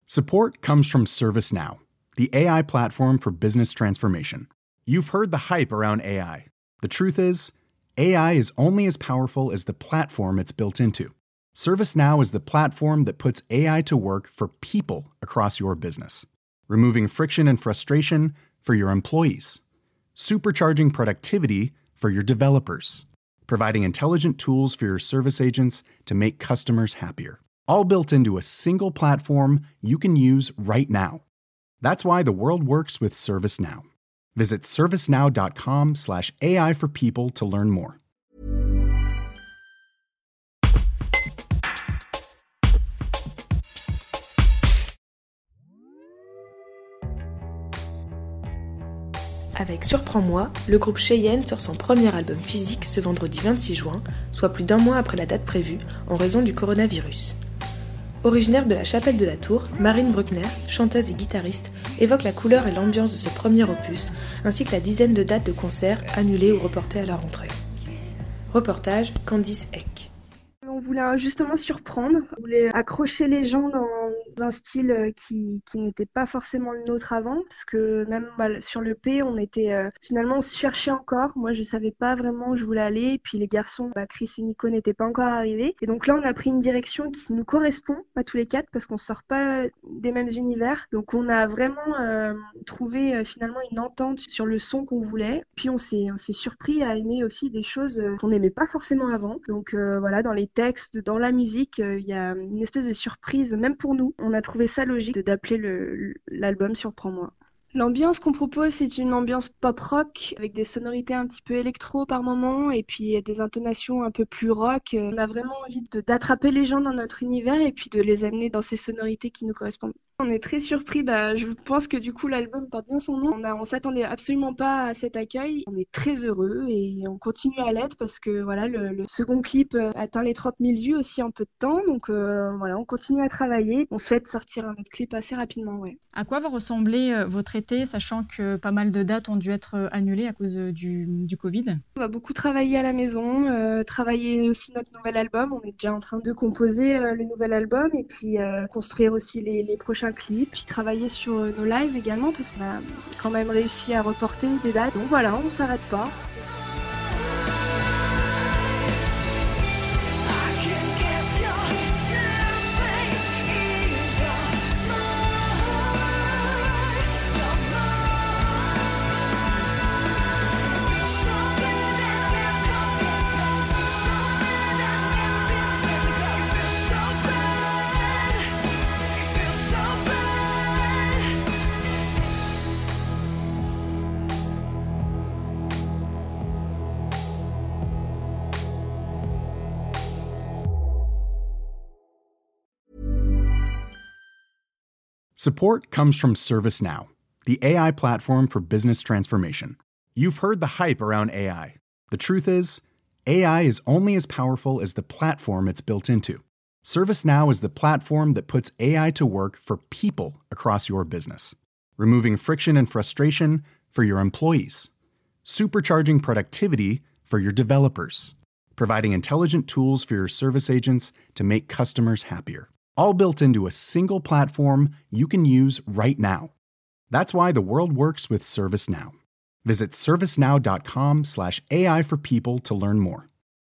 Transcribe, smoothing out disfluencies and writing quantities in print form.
Support comes from ServiceNow, the AI platform for business transformation. You've heard the hype around AI. The truth is, AI is only as powerful as the platform it's built into. ServiceNow is the platform that puts AI to work for people across your business, removing friction and frustration for your employees, supercharging productivity for your developers, providing intelligent tools for your service agents to make customers happier. All built into a single platform you can use right now. That's why the world works with ServiceNow. Visit servicenow.com/AI for people to learn more. Avec Surprends-moi, le groupe Cheyenne sort son premier album physique ce vendredi 26 juin, soit plus d'un mois après la date prévue, en raison du coronavirus. Originaire de la Chapelle de la Tour, Marine Bruckner, chanteuse et guitariste, évoque la couleur et l'ambiance de ce premier opus, ainsi que la dizaine de dates de concerts annulées ou reportées à la rentrée. Reportage Candice Eck. On voulait justement surprendre, on voulait accrocher les gens dans un style qui n'était pas forcément le nôtre avant, parce que même sur le P, on était finalement on se cherchait encore. Moi, je savais pas vraiment où je voulais aller, et puis les garçons, Chris et Nico n'étaient pas encore arrivés. Et donc là, on a pris une direction qui nous correspond à tous les quatre, parce qu'on sort pas des mêmes univers. Donc on a vraiment trouvé finalement une entente sur le son qu'on voulait. Puis on s'est surpris à aimer aussi des choses qu'on n'aimait pas forcément avant. Donc voilà, dans les textes, dans la musique, il y a une espèce de surprise, même pour nous. On a trouvé ça logique d'appeler l'album Surprends-moi. L'ambiance qu'on propose, c'est une ambiance pop-rock avec des sonorités un petit peu électro par moment et puis des intonations un peu plus rock. On a vraiment envie d'attraper les gens dans notre univers et puis de les amener dans ces sonorités qui nous correspondent. On est très surpris, je pense que du coup l'album porte bien son nom. On s'attendait absolument pas à cet accueil. On est très heureux et on continue à l'être parce que voilà, le second clip atteint les 30 000 vues aussi en peu de temps. Donc voilà, on continue à travailler. On souhaite sortir un autre clip assez rapidement, ouais. À quoi va ressembler votre été, sachant que pas mal de dates ont dû être annulées à cause du Covid? On va beaucoup travailler à la maison, travailler aussi notre nouvel album. On est déjà en train de composer le nouvel album et puis construire aussi les prochains clips, puis travailler sur nos lives également parce qu'on a quand même réussi à reporter des dates. Donc voilà, on s'arrête pas. Support comes from ServiceNow, the AI platform for business transformation. You've heard the hype around AI. The truth is, AI is only as powerful as the platform it's built into. ServiceNow is the platform that puts AI to work for people across your business, removing friction and frustration for your employees, supercharging productivity for your developers, providing intelligent tools for your service agents to make customers happier. All built into a single platform you can use right now. That's why the world works with ServiceNow. Visit servicenow.com/AI for people to learn more.